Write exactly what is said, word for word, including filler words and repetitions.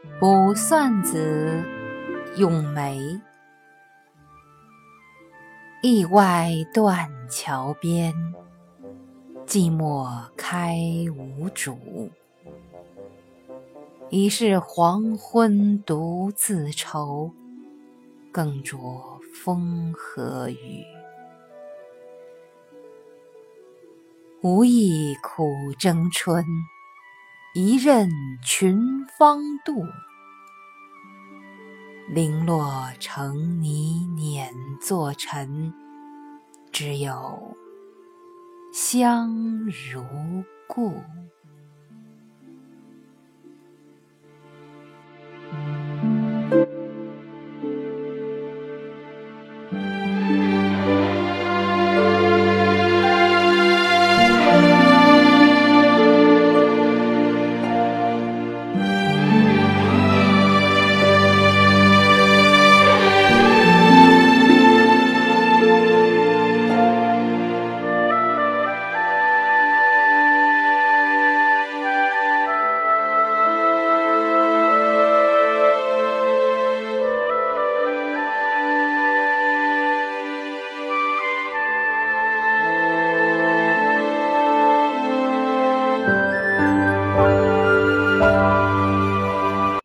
卜算子·咏梅。驿外断桥边，寂寞开无主。已是黄昏独自愁，更着风和雨。无意苦争春，一任群芳妒。零落成泥碾作尘，只有香如故。